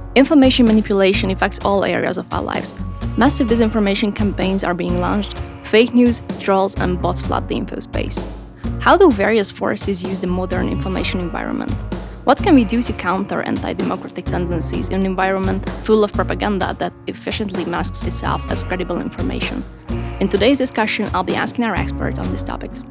Information manipulation affects all areas of our lives. Massive disinformation campaigns are being launched, fake news, trolls, and bots flood the info space. How do various forces use the modern information environment? What can we do to counter anti-democratic tendencies in an environment full of propaganda that efficiently masks itself as credible information? In today's discussion, I'll be asking our experts on these topics.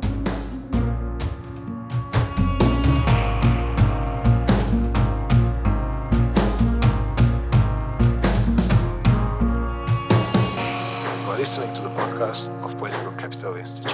You are listening to the podcast of Political Capital Institute.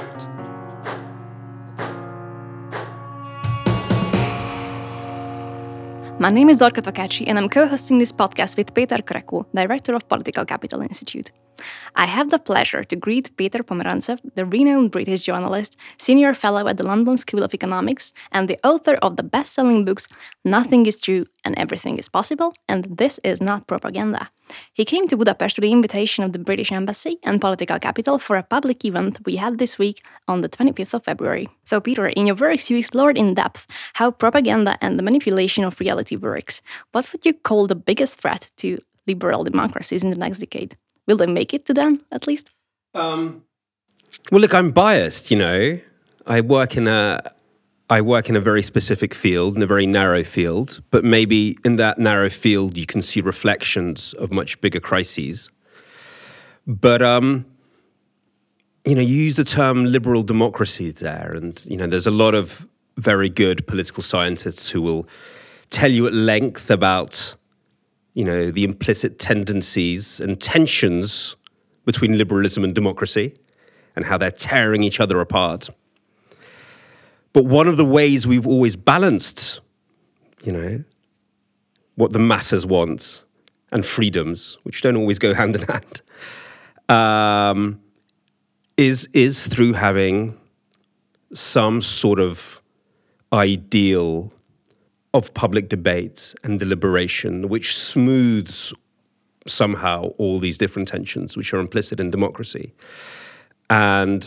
My name is Zorka Tokaci, and I'm co-hosting this podcast with Peter Kreku, Director of Political Capital Institute. I have the pleasure to greet Peter Pomerantsev, the renowned British journalist, Senior Fellow at the London School of Economics, and the author of the best-selling books Nothing is True and Everything is Possible, and This is Not Propaganda. He came to Budapest to the invitation of the British Embassy and Political Capital for a public event we had this week on the 25th of February. So Peter, in your works you explored in depth how propaganda and the manipulation of reality works. What would you call the biggest threat to liberal democracies in the next decade? Will they make it to then, at least? Well, look, I'm biased, I work in a very specific field, in a very narrow field, but maybe in that narrow field you can see reflections of much bigger crises. But, you use the term liberal democracy there, and, there's a lot of very good political scientists who will tell you at length about, the implicit tendencies and tensions between liberalism and democracy and how they're tearing each other apart. But one of the ways we've always balanced, what the masses want and freedoms, which don't always go hand in hand, is through having some sort of ideal of public debate and deliberation, which smooths somehow all these different tensions which are implicit in democracy. And,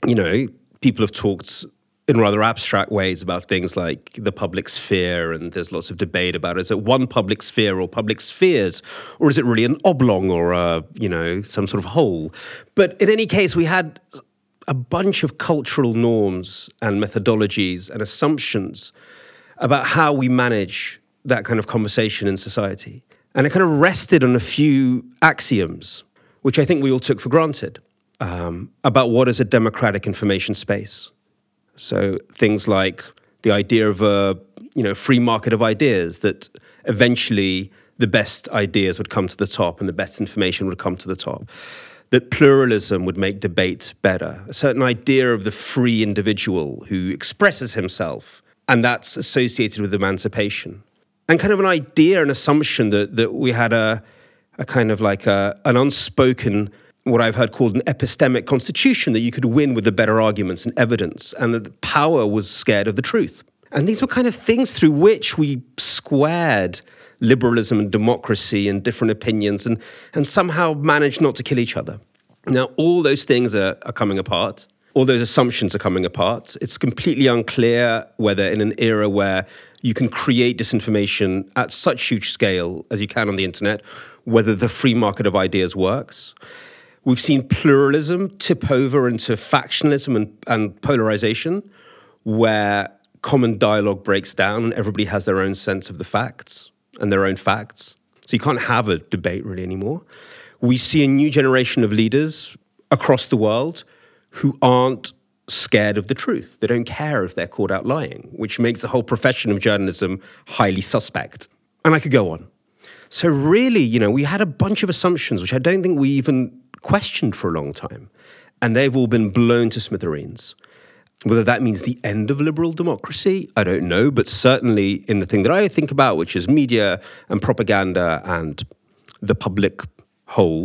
people have talked in rather abstract ways about things like the public sphere, and there's lots of debate about, is it one public sphere or public spheres, or is it really an oblong or some sort of hole? But in any case, we had a bunch of cultural norms and methodologies and assumptions about how we manage that kind of conversation in society. And it kind of rested on a few axioms, which I think we all took for granted, about what is a democratic information space. So things like the idea of a free market of ideas, that eventually the best ideas would come to the top and the best information would come to the top. That pluralism would make debate better. A certain idea of the free individual who expresses himself, and that's associated with emancipation. And kind of an idea, an assumption that we had a kind of like an unspoken, what I've heard called an epistemic constitution, that you could win with the better arguments and evidence, and that the power was scared of the truth. And these were kind of things through which we squared liberalism and democracy and different opinions and somehow managed not to kill each other. Now, all those things are coming apart. All those assumptions are coming apart. It's completely unclear whether in an era where you can create disinformation at such huge scale as you can on the internet, whether the free market of ideas works. We've seen pluralism tip over into factionalism and polarization, where common dialogue breaks down and everybody has their own sense of the facts and their own facts. So you can't have a debate really anymore. We see a new generation of leaders across the world who aren't scared of the truth. They don't care if they're caught out lying, which makes the whole profession of journalism highly suspect. And I could go on. So really, we had a bunch of assumptions, which I don't think we even questioned for a long time. And they've all been blown to smithereens. Whether that means the end of liberal democracy, I don't know. But certainly in the thing that I think about, which is media and propaganda and the public whole,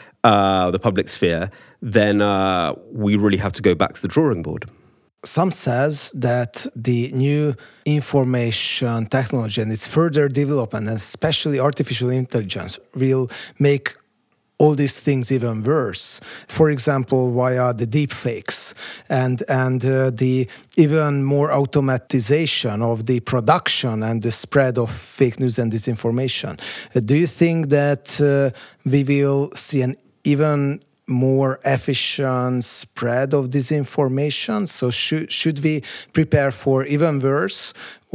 the public sphere, then we really have to go back to the drawing board. Some says that the new information technology and its further development, and especially artificial intelligence, will make all these things even worse. For example, via the deepfakes and the even more automatization of the production and the spread of fake news and disinformation. Do you think that we will see an even more efficient spread of disinformation? So should we prepare for even worse,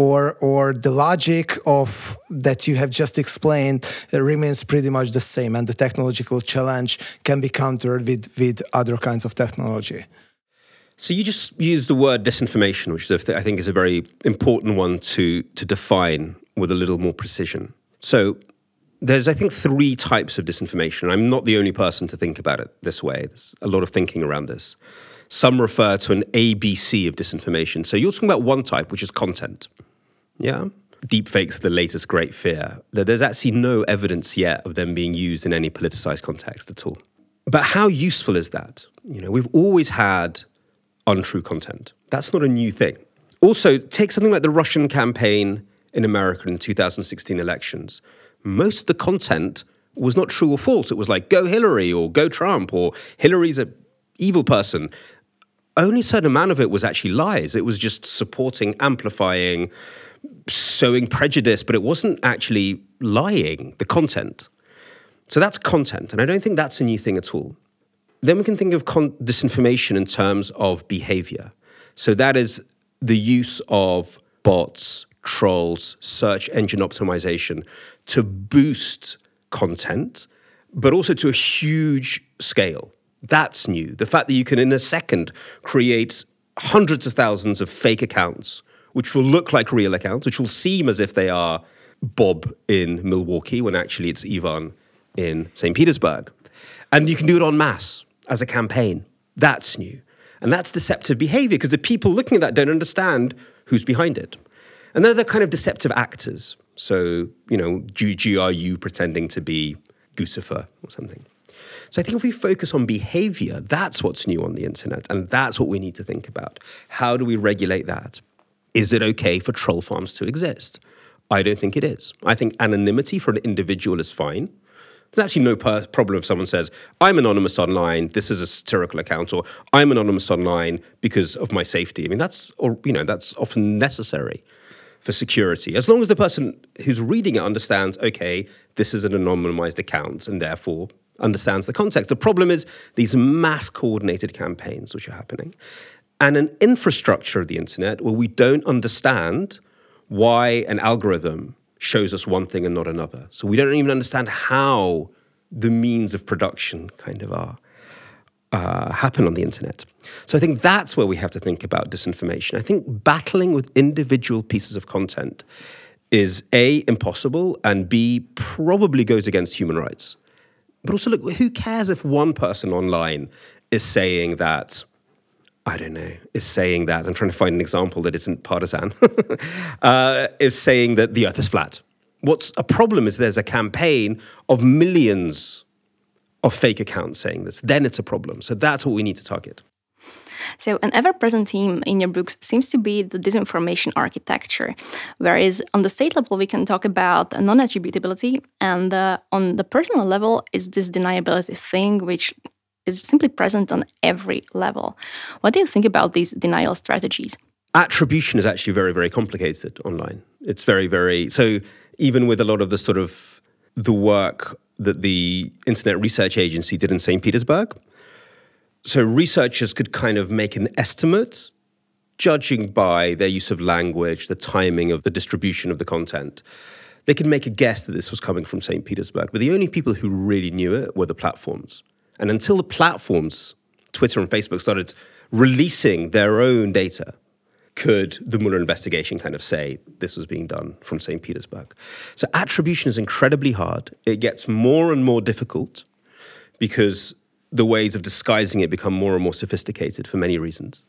or the logic of that you have just explained remains pretty much the same, and the technological challenge can be countered with other kinds of technology? So you just used the word disinformation, which is, I think is a very important one to define with a little more precision. So there's, I think, 3 types of disinformation. I'm not the only person to think about it this way. There's a lot of thinking around this. Some refer to an ABC of disinformation. So you're talking about one type, which is content. Yeah? Deepfakes are the latest great fear. There's actually no evidence yet of them being used in any politicized context at all. But how useful is that? We've always had untrue content. That's not a new thing. Also, take something like the Russian campaign in America in the 2016 elections. Most of the content was not true or false. It was like, go Hillary or go Trump or Hillary's an evil person. Only a certain amount of it was actually lies. It was just supporting, amplifying, sowing prejudice, but it wasn't actually lying, the content. So that's content, and I don't think that's a new thing at all. Then we can think of disinformation in terms of behavior. So that is the use of bots, trolls, search engine optimization to boost content, but also to a huge scale. That's new. The fact that you can, in a second, create hundreds of thousands of fake accounts, which will look like real accounts, which will seem as if they are Bob in Milwaukee, when actually it's Ivan in St. Petersburg. And you can do it en masse as a campaign. That's new. And that's deceptive behavior, because the people looking at that don't understand who's behind it. And they're the kind of deceptive actors. So, GRU pretending to be Guccifer or something. So I think if we focus on behavior, that's what's new on the internet. And that's what we need to think about. How do we regulate that? Is it okay for troll farms to exist? I don't think it is. I think anonymity for an individual is fine. There's actually no problem if someone says, I'm anonymous online, this is a satirical account, or I'm anonymous online because of my safety. I mean, that's often necessary for security. As long as the person who's reading it understands, okay, this is an anonymized account, and therefore understands the context. The problem is these mass coordinated campaigns which are happening, and an infrastructure of the internet where we don't understand why an algorithm shows us one thing and not another. So we don't even understand how the means of production kind of happen on the internet. So I think that's where we have to think about disinformation. I think battling with individual pieces of content is A, impossible, and B, probably goes against human rights. But also, look, who cares if one person online is saying that, I'm trying to find an example that isn't partisan, is saying that the earth is flat. What's a problem is there's a campaign of millions of fake accounts saying this. Then it's a problem. So that's what we need to target. So an ever-present theme in your books seems to be the disinformation architecture, whereas on the state level we can talk about non-attributability, and on the personal level is this deniability thing, which is simply present on every level. What do you think about these denial strategies? Attribution is actually very, very complicated online. It's very, very... So even with a lot of the sort of the work that the Internet Research Agency did in St. Petersburg, so researchers could kind of make an estimate, judging by their use of language, the timing of the distribution of the content. They could make a guess that this was coming from St. Petersburg, but the only people who really knew it were the platforms. And until the platforms, Twitter and Facebook, started releasing their own data, could the Mueller investigation kind of say this was being done from St. Petersburg. So attribution is incredibly hard. It gets more and more difficult because the ways of disguising it become more and more sophisticated for many reasons.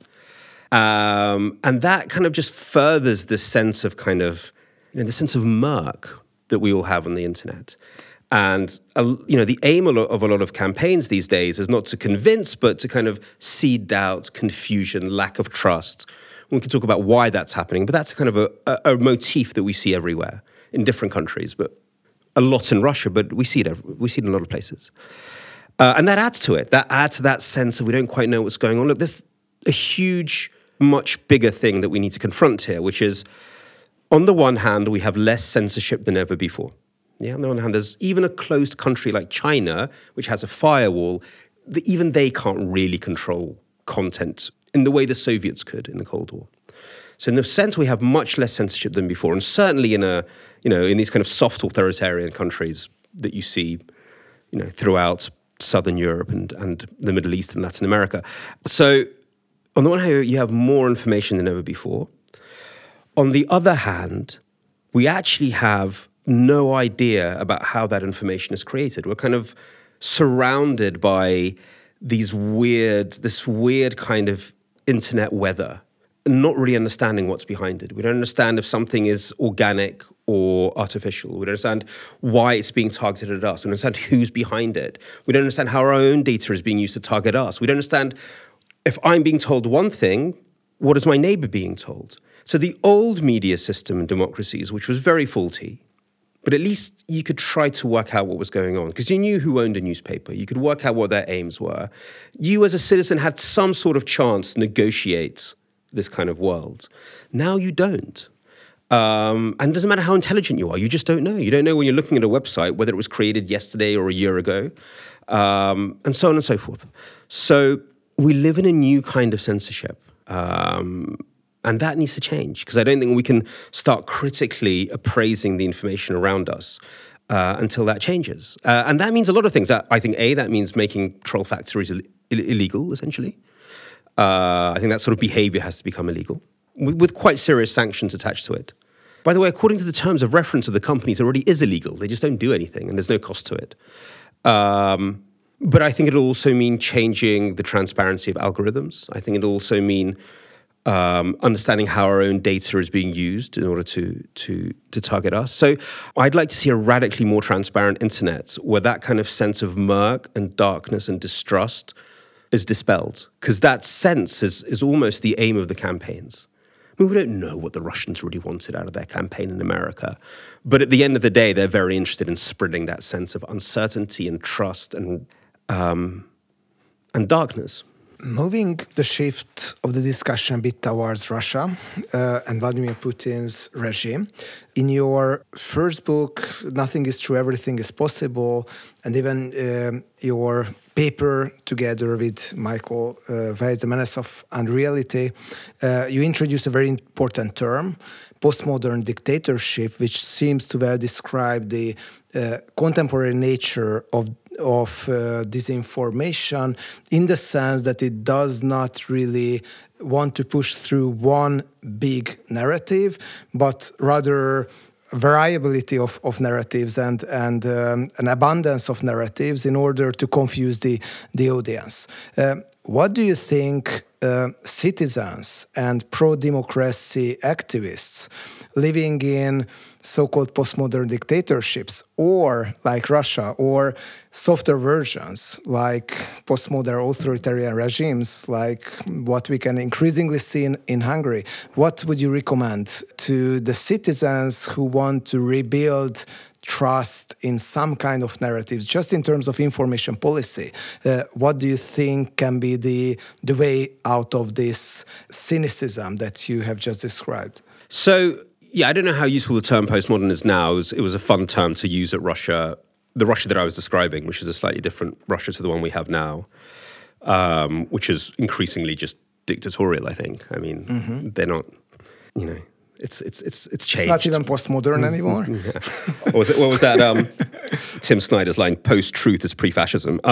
And that kind of just furthers this sense of the sense of murk that we all have on the internet. And, the aim of a lot of campaigns these days is not to convince, but to kind of seed doubt, confusion, lack of trust. We can talk about why that's happening, but that's kind of a motif that we see everywhere in different countries. But a lot in Russia, but we see it in a lot of places. And that adds to it. That adds to that sense of we don't quite know what's going on. Look, there's a huge, much bigger thing that we need to confront here, which is, on the one hand, we have less censorship than ever before. Yeah, on the one hand, there's even a closed country like China, which has a firewall, even they can't really control content in the way the Soviets could in the Cold War. So in a sense, we have much less censorship than before. And certainly in these kind of soft authoritarian countries that you see, throughout Southern Europe and the Middle East and Latin America. So on the one hand, you have more information than ever before. On the other hand, we actually have no idea about how that information is created. We're kind of surrounded by this weird kind of internet weather, not really understanding what's behind it. We don't understand if something is organic or artificial. We don't understand why it's being targeted at us. We don't understand who's behind it. We don't understand how our own data is being used to target us. We don't understand if I'm being told one thing, what is my neighbor being told? So the old media system in democracies, which was very faulty, but at least you could try to work out what was going on because you knew who owned a newspaper. You could work out what their aims were. You as a citizen had some sort of chance to negotiate this kind of world. Now you don't. And it doesn't matter how intelligent you are. You just don't know. You don't know when you're looking at a website whether it was created yesterday or a year ago, and so on and so forth. So we live in a new kind of censorship. And that needs to change because I don't think we can start critically appraising the information around us until that changes. And that means a lot of things. I think, that means making troll factories illegal, essentially. I think that sort of behavior has to become illegal with quite serious sanctions attached to it. By the way, according to the terms of reference of the companies, it already is illegal. They just don't do anything and there's no cost to it. But I think it'll also mean changing the transparency of algorithms. I think it'll also mean understanding how our own data is being used in order to target us. So I'd like to see a radically more transparent internet where that kind of sense of murk and darkness and distrust is dispelled. Because that sense is almost the aim of the campaigns. I mean, we don't know what the Russians really wanted out of their campaign in America. But at the end of the day, they're very interested in spreading that sense of uncertainty and trust and darkness. Moving the shift of the discussion a bit towards Russia and Vladimir Putin's regime. In your first book, Nothing is True, Everything is Possible, and even your paper together with Michael Weiss, The Menace of Unreality, you introduce a very important term, postmodern dictatorship, which seems to well describe the contemporary nature of disinformation in the sense that it does not really want to push through one big narrative, but rather variability of narratives and an abundance of narratives in order to confuse the audience. What do you think citizens and pro-democracy activists living in so-called postmodern dictatorships, or like Russia, or softer versions like postmodern authoritarian regimes, like what we can increasingly see in Hungary, what would you recommend to the citizens who want to rebuild trust in some kind of narratives, just in terms of information policy? What do you think can be the way out of this cynicism that you have just described? So, yeah, I don't know how useful the term postmodern is now. It was a fun term to use at Russia, the Russia that I was describing, which is a slightly different Russia to the one we have now, which is increasingly just dictatorial, I think. I mean, they're not, it's changed. It's not even postmodern anymore. Yeah. What was that? Tim Snyder's line, post-truth is pre-fascism.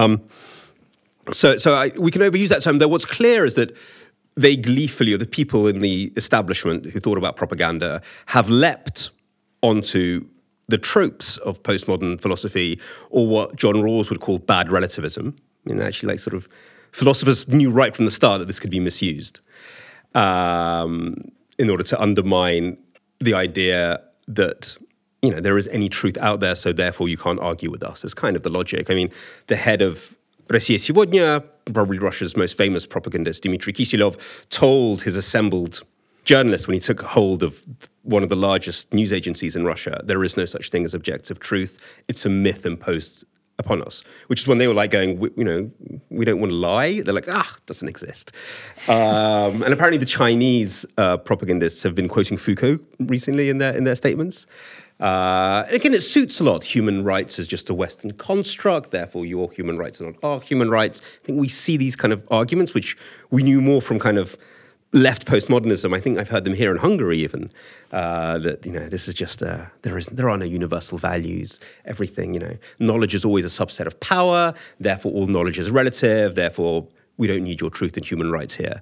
So we can overuse that term, though what's clear is that they gleefully, or the people in the establishment who thought about propaganda, have leapt onto the tropes of postmodern philosophy, or what John Rawls would call bad relativism. And actually, like, sort of, philosophers knew right from the start that this could be misused in order to undermine the idea that, there is any truth out there, so therefore you can't argue with us. It's kind of the logic. I mean, the head of Россия Сегодня, probably Russia's most famous propagandist, Dmitry Kisilov, told his assembled journalists when he took hold of one of the largest news agencies in Russia, there is no such thing as objective truth. It's a myth imposed upon us, which is when they were like going, we don't want to lie. They're like, it doesn't exist. And apparently the Chinese propagandists have been quoting Foucault recently in their statements. Again, it suits a lot. Human rights is just a Western construct, therefore your human rights are not our human rights. I think we see these kind of arguments, which we knew more from kind of left postmodernism. I think I've heard them here in Hungary even, that, this is just, there are no universal values. Everything, knowledge is always a subset of power, therefore all knowledge is relative, therefore we don't need your truth and human rights here.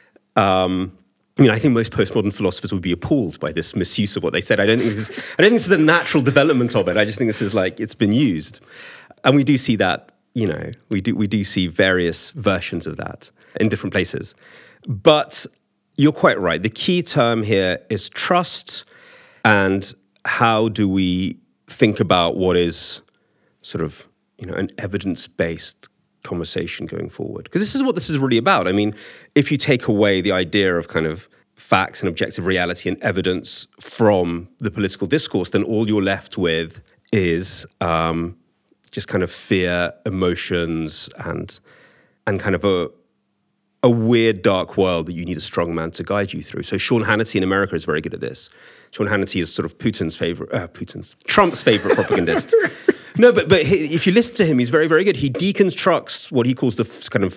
I think most postmodern philosophers would be appalled by this misuse of what they said. I don't think this is a natural development of it. I just think this is like, it's been used. And we do see that, we do see various versions of that in different places. But you're quite right. The key term here is trust, and how do we think about what is sort of, an evidence-based conversation going forward? Because this is what this is really about. I mean, if you take away the idea of kind of facts and objective reality and evidence from the political discourse, then all you're left with is just kind of fear, emotions, and kind of a weird, dark world that you need a strong man to guide you through. So Sean Hannity in America is very good at this. Sean Hannity is sort of Trump's favorite propagandist. No, but if you listen to him, he's very, very good. He deconstructs what he calls the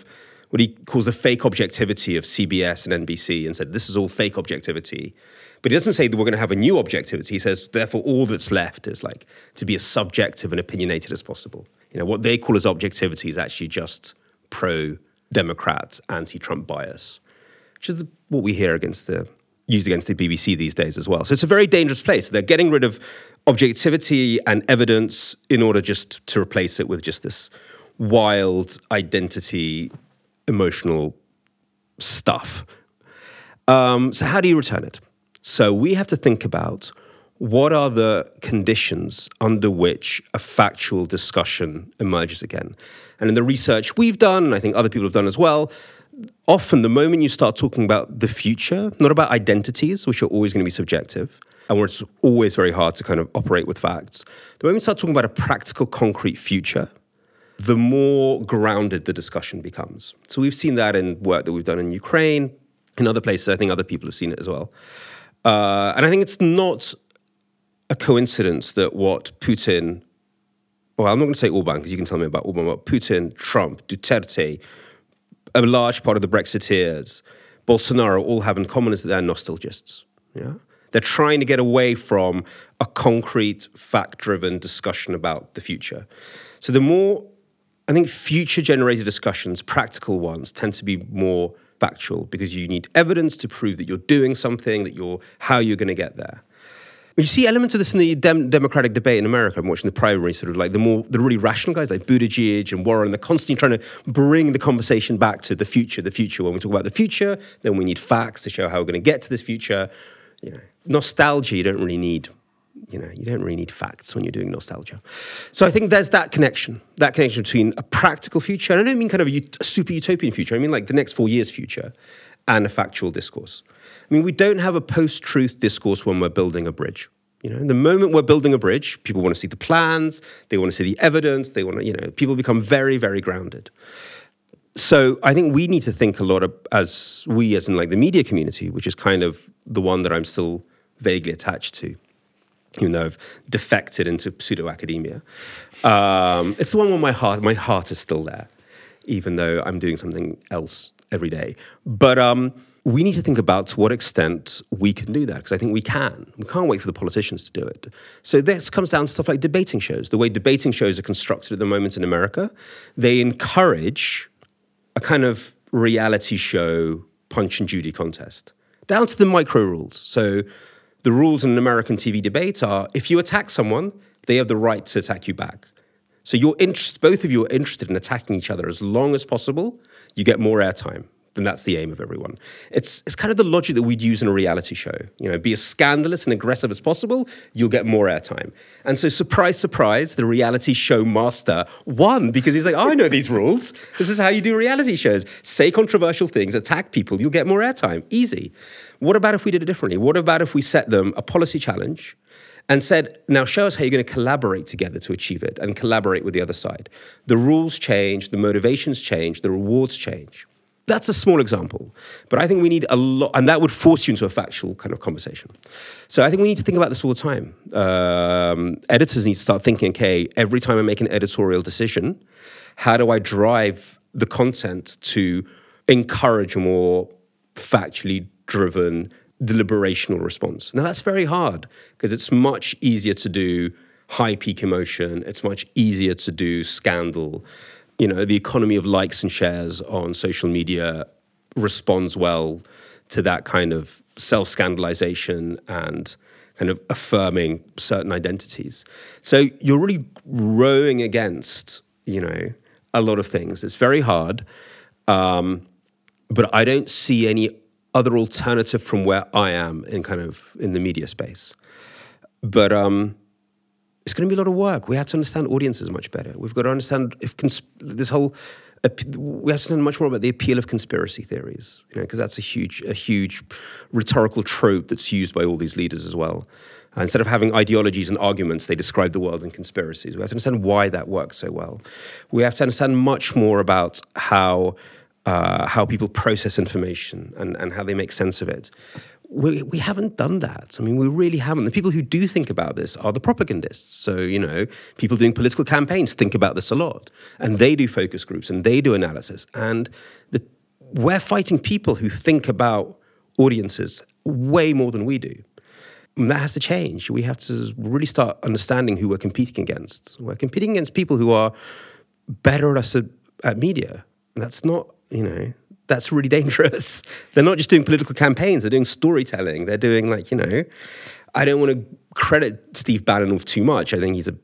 fake objectivity of CBS and NBC, and said this is all fake objectivity. But he doesn't say that we're going to have a new objectivity. He says, therefore, all that's left is like to be as subjective and opinionated as possible. What they call as objectivity is actually just pro-Democrat, anti-Trump bias, which is what we hear used against the BBC these days as well. So it's a very dangerous place. They're getting rid of objectivity and evidence in order just to replace it with just this wild identity, emotional stuff. So how do you return it? So we have to think about what are the conditions under which a factual discussion emerges again. And in the research we've done, and I think other people have done as well, often the moment you start talking about the future, not about identities, which are always going to be subjective, and where it's always very hard to kind of operate with facts, the moment you start talking about a practical, concrete future, the more grounded the discussion becomes. So we've seen that in work that we've done in Ukraine, in other places. I think other people have seen it as well. And I think it's not a coincidence that what Putin, well, I'm not going to say Orban because you can tell me about Orban, but Putin, Trump, Duterte, a large part of the Brexiteers, Bolsonaro all have in common is that they're nostalgists. Yeah? They're trying to get away from a concrete, fact-driven discussion about the future. So the more, I think, future-generated discussions, practical ones, tend to be more factual because you need evidence to prove that you're doing something, how you're going to get there. You see elements of this in the Democratic debate in America. I'm watching the primary, sort of like the really rational guys like Buttigieg and Warren. They're constantly trying to bring the conversation back to the future. The future. When we talk about the future, then we need facts to show how we're going to get to this future. Nostalgia. You don't really need facts when you're doing nostalgia. So I think there's that connection between a practical future, and I don't mean kind of a super utopian future. I mean like the next 4 years future, and a factual discourse. I mean, we don't have a post-truth discourse when we're building a bridge. The moment we're building a bridge, people want to see the plans, they want to see the evidence, they want to, people become very, very grounded. So I think we need to think a lot as in like the media community, which is kind of the one that I'm still vaguely attached to, even though I've defected into pseudo-academia. It's the one where my heart is still there, even though I'm doing something else every day. But we need to think about to what extent we can do that, because I think we can. We can't wait for the politicians to do it. So this comes down to stuff like debating shows. The way debating shows are constructed at the moment in America, they encourage a kind of reality show Punch and Judy contest, down to the micro rules. So the rules in an American TV debate are, if you attack someone, they have the right to attack you back. So both of you are interested in attacking each other as long as possible, you get more airtime. then that's the aim of everyone. It's kind of the logic that we'd use in a reality show. Be as scandalous and aggressive as possible, you'll get more airtime. And so surprise, surprise, the reality show master won because he's like, I know these rules. This is how you do reality shows. Say controversial things, attack people, you'll get more airtime. Easy. What about if we did it differently? What about if we set them a policy challenge and said, now show us how you're going to collaborate together to achieve it and collaborate with the other side. The rules change, the motivations change, the rewards change. That's a small example, but I think we need a lot, and that would force you into a factual kind of conversation. So I think we need to think about this all the time. Editors need to start thinking, okay, every time I make an editorial decision, how do I drive the content to encourage a more factually driven, deliberational response? Now, that's very hard because it's much easier to do high peak emotion. It's much easier to do scandal. The economy of likes and shares on social media responds well to that kind of self-scandalization and kind of affirming certain identities. So you're really rowing against, a lot of things. It's very hard, but I don't see any other alternative from where I am in the media space. But it's going to be a lot of work. We have to understand audiences much better. We've got to understand we have to understand much more about the appeal of conspiracy theories, because that's a huge rhetorical trope that's used by all these leaders as well. Instead of having ideologies and arguments, they describe the world in conspiracies. We have to understand why that works so well. We have to understand much more about how people process information and how they make sense of it. We haven't done that. I mean, we really haven't. The people who do think about this are the propagandists. So, people doing political campaigns think about this a lot. And they do focus groups and they do analysis. And we're fighting people who think about audiences way more than we do. And that has to change. We have to really start understanding who we're competing against. We're competing against people who are better at media. And that's not, that's really dangerous. They're not just doing political campaigns, they're doing storytelling. They're doing I don't want to credit Steve Bannon with too much. I think he's a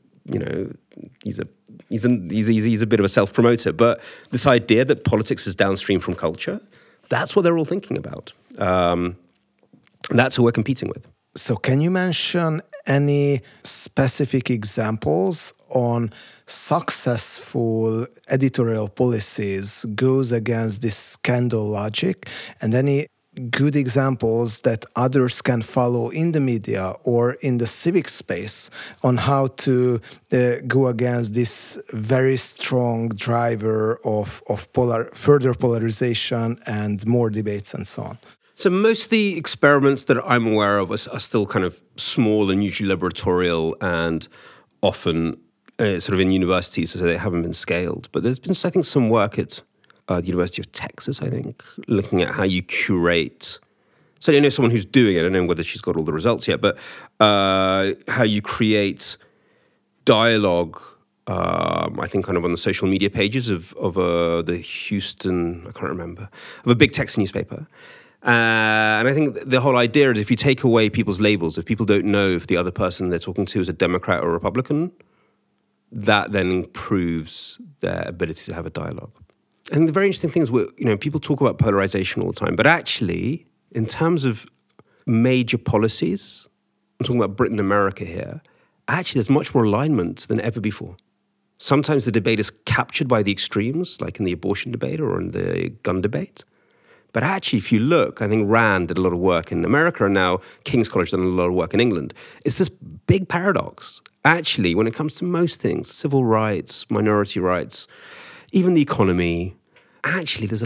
bit of a self-promoter. But this idea that politics is downstream from culture, that's what they're all thinking about. And that's who we're competing with. So can you mention any specific examples on successful editorial policies goes against this scandal logic, and any good examples that others can follow in the media or in the civic space on how to go against this very strong driver of further polarization and more debates and so on? So most of the experiments that I'm aware of are still kind of small and usually laboratorial and often sort of in universities, so they haven't been scaled. But there's been, I think, some work at the University of Texas, I think, looking at how you curate. So I know someone who's doing it. I don't know whether she's got all the results yet, but how you create dialogue, I think, kind of on the social media pages of the Houston, I can't remember, of a big Texas newspaper. And I think the whole idea is if you take away people's labels, if people don't know if the other person they're talking to is a Democrat or a Republican, that then improves their ability to have a dialogue. And the very interesting thing is, people talk about polarization all the time, but actually, in terms of major policies, I'm talking about Britain and America here, actually there's much more alignment than ever before. Sometimes the debate is captured by the extremes, like in the abortion debate or in the gun debate. But actually, if you look, I think Rand did a lot of work in America, and now King's College done a lot of work in England. It's this big paradox. Actually, when it comes to most things, civil rights, minority rights, even the economy, actually there's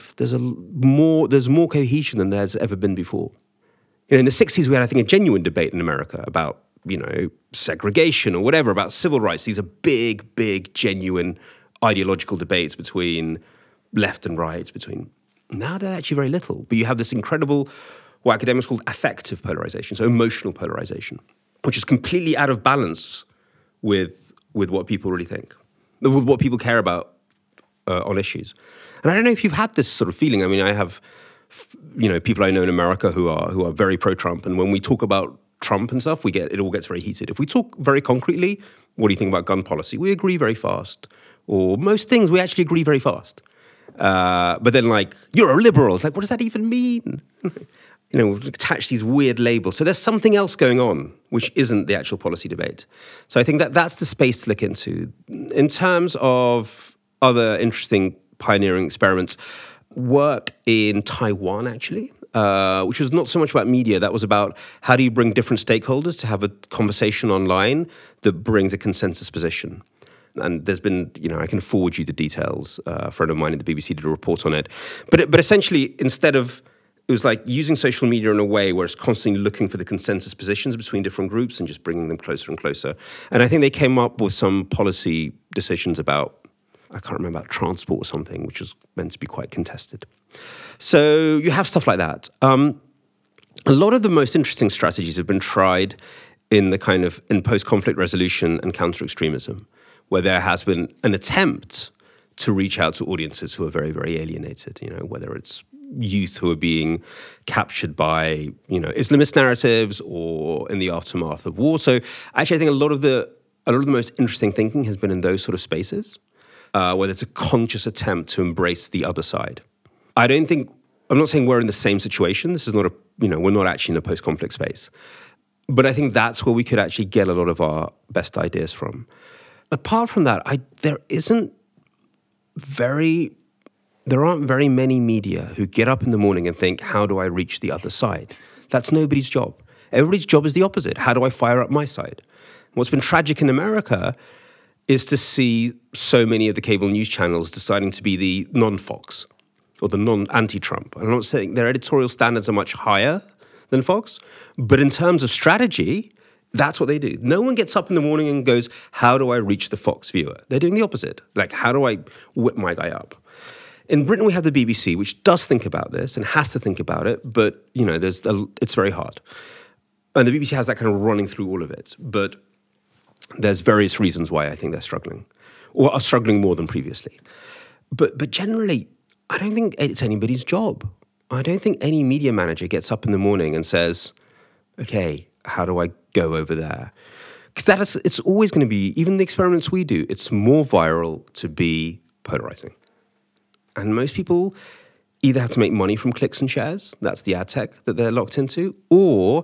more cohesion than there's ever been before. In the 60s, we had, I think, a genuine debate in America about, segregation or whatever, about civil rights. These are big, genuine ideological debates between left and right, now they're actually very little, but you have this incredible, what academics call affective polarization, so emotional polarization, which is completely out of balance with what people really think, with what people care about on issues. And I don't know if you've had this sort of feeling. I mean, I have, people I know in America who are very pro-Trump, and when we talk about Trump and stuff, it all gets very heated. If we talk very concretely, what do you think about gun policy? We agree very fast. Or most things we actually agree very fast. But then like, you're a liberal. It's like, what does that even mean? We've attached these weird labels. So there's something else going on, which isn't the actual policy debate. So I think that's the space to look into. In terms of other interesting pioneering experiments, work in Taiwan, actually, which was not so much about media. That was about how do you bring different stakeholders to have a conversation online that brings a consensus position. And there's been, I can forward you the details. A friend of mine at the BBC did a report on it. But essentially, instead of, it was like using social media in a way where it's constantly looking for the consensus positions between different groups and just bringing them closer and closer. And I think they came up with some policy decisions about, I can't remember, about transport or something, which was meant to be quite contested. So you have stuff like that. A lot of the most interesting strategies have been tried in post-conflict resolution and counter-extremism, where there has been an attempt to reach out to audiences who are very, very alienated, whether it's youth who are being captured by, Islamist narratives or in the aftermath of war. So actually, I think a lot of the most interesting thinking has been in those sort of spaces, where there's a conscious attempt to embrace the other side. I'm not saying we're in the same situation. This is not we're not actually in a post-conflict space. But I think that's where we could actually get a lot of our best ideas from. Apart from that, there aren't very many media who get up in the morning and think, how do I reach the other side? That's nobody's job. Everybody's job is the opposite. How do I fire up my side? What's been tragic in America is to see so many of the cable news channels deciding to be the non-Fox or the non-anti-Trump. I'm not saying their editorial standards are much higher than Fox, but in terms of strategy, that's what they do. No one gets up in the morning and goes, how do I reach the Fox viewer? They're doing the opposite. Like, how do I whip my guy up? In Britain, we have the BBC, which does think about this and has to think about it, but, it's very hard. And the BBC has that kind of running through all of it. But there's various reasons why I think they're struggling, or are struggling more than previously. But generally, I don't think it's anybody's job. I don't think any media manager gets up in the morning and says, okay, how do I go over there? Because it's always going to be, even the experiments we do, it's more viral to be polarizing. And most people either have to make money from clicks and shares, that's the ad tech that they're locked into, or,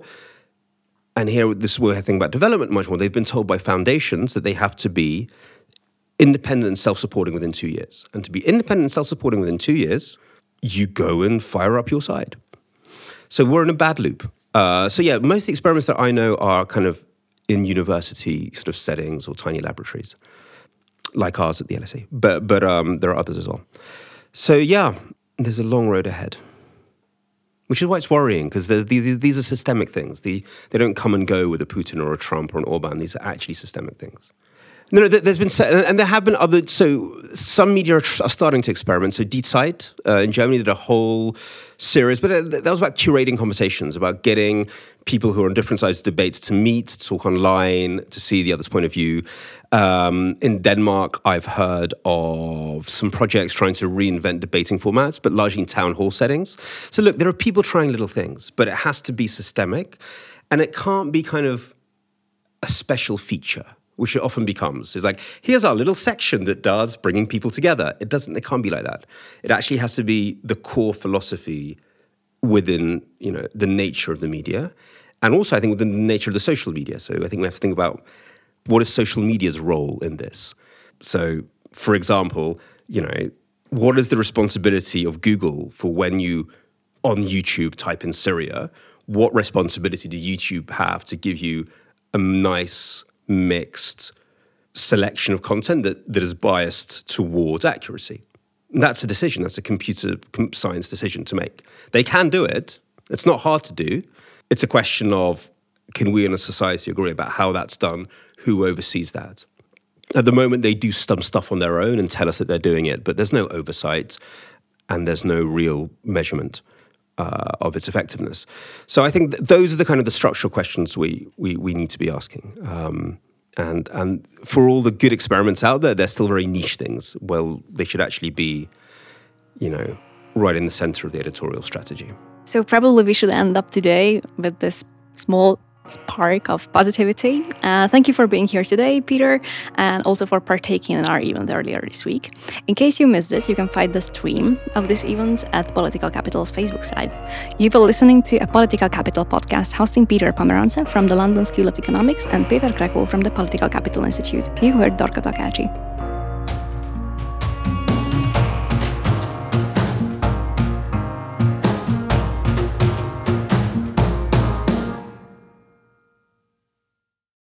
and here this is where I think about development much more, they've been told by foundations that they have to be independent and self-supporting within 2 years. And to be independent and self-supporting within 2 years, you go and fire up your side. So we're in a bad loop. Most of the experiments that I know are kind of in university sort of settings or tiny laboratories, like ours at the LSE. But there are others as well. So there's a long road ahead, which is why it's worrying, because these are systemic things. They don't come and go with a Putin or a Trump or an Orban. These are actually systemic things. No, there's been, and there have been other, so some media are starting to experiment. So Die Zeit in Germany did a whole series, but that was about curating conversations, about getting people who are on different sides of debates to meet, to talk online, to see the other's point of view. In Denmark, I've heard of some projects trying to reinvent debating formats, but largely in town hall settings. So look, there are people trying little things, but it has to be systemic, and it can't be kind of a special feature, which it often becomes. It's like, here's our little section that does bringing people together. It can't be like that. It actually has to be the core philosophy within, the nature of the media. And also, I think, within the nature of the social media. So I think we have to think about what is social media's role in this. So, for example, what is the responsibility of Google for when you, on YouTube, type in Syria? What responsibility do YouTube have to give you a nice mixed selection of content that is biased towards accuracy? That's a decision. That's a computer science decision to make. They can do it. It's not hard to do. It's a question of, can we in a society agree about how that's done? Who oversees that? At the moment, they do some stuff on their own and tell us that they're doing it, but there's no oversight and there's no real measurement of its effectiveness. So I think those are the kind of the structural questions we need to be asking. And for all the good experiments out there, they're still very niche things. Well, they should actually be, right in the center of the editorial strategy. So probably we should end up today with this small spark of positivity. Thank you for being here today, Peter, and also for partaking in our event earlier this week. In case you missed it, you can find the stream of this event at Political Capital's Facebook site. You've been listening to a Political Capital podcast hosting Peter Pomerantsev from the London School of Economics and Peter Krekó from the Political Capital Institute. You heard Dorka Takács.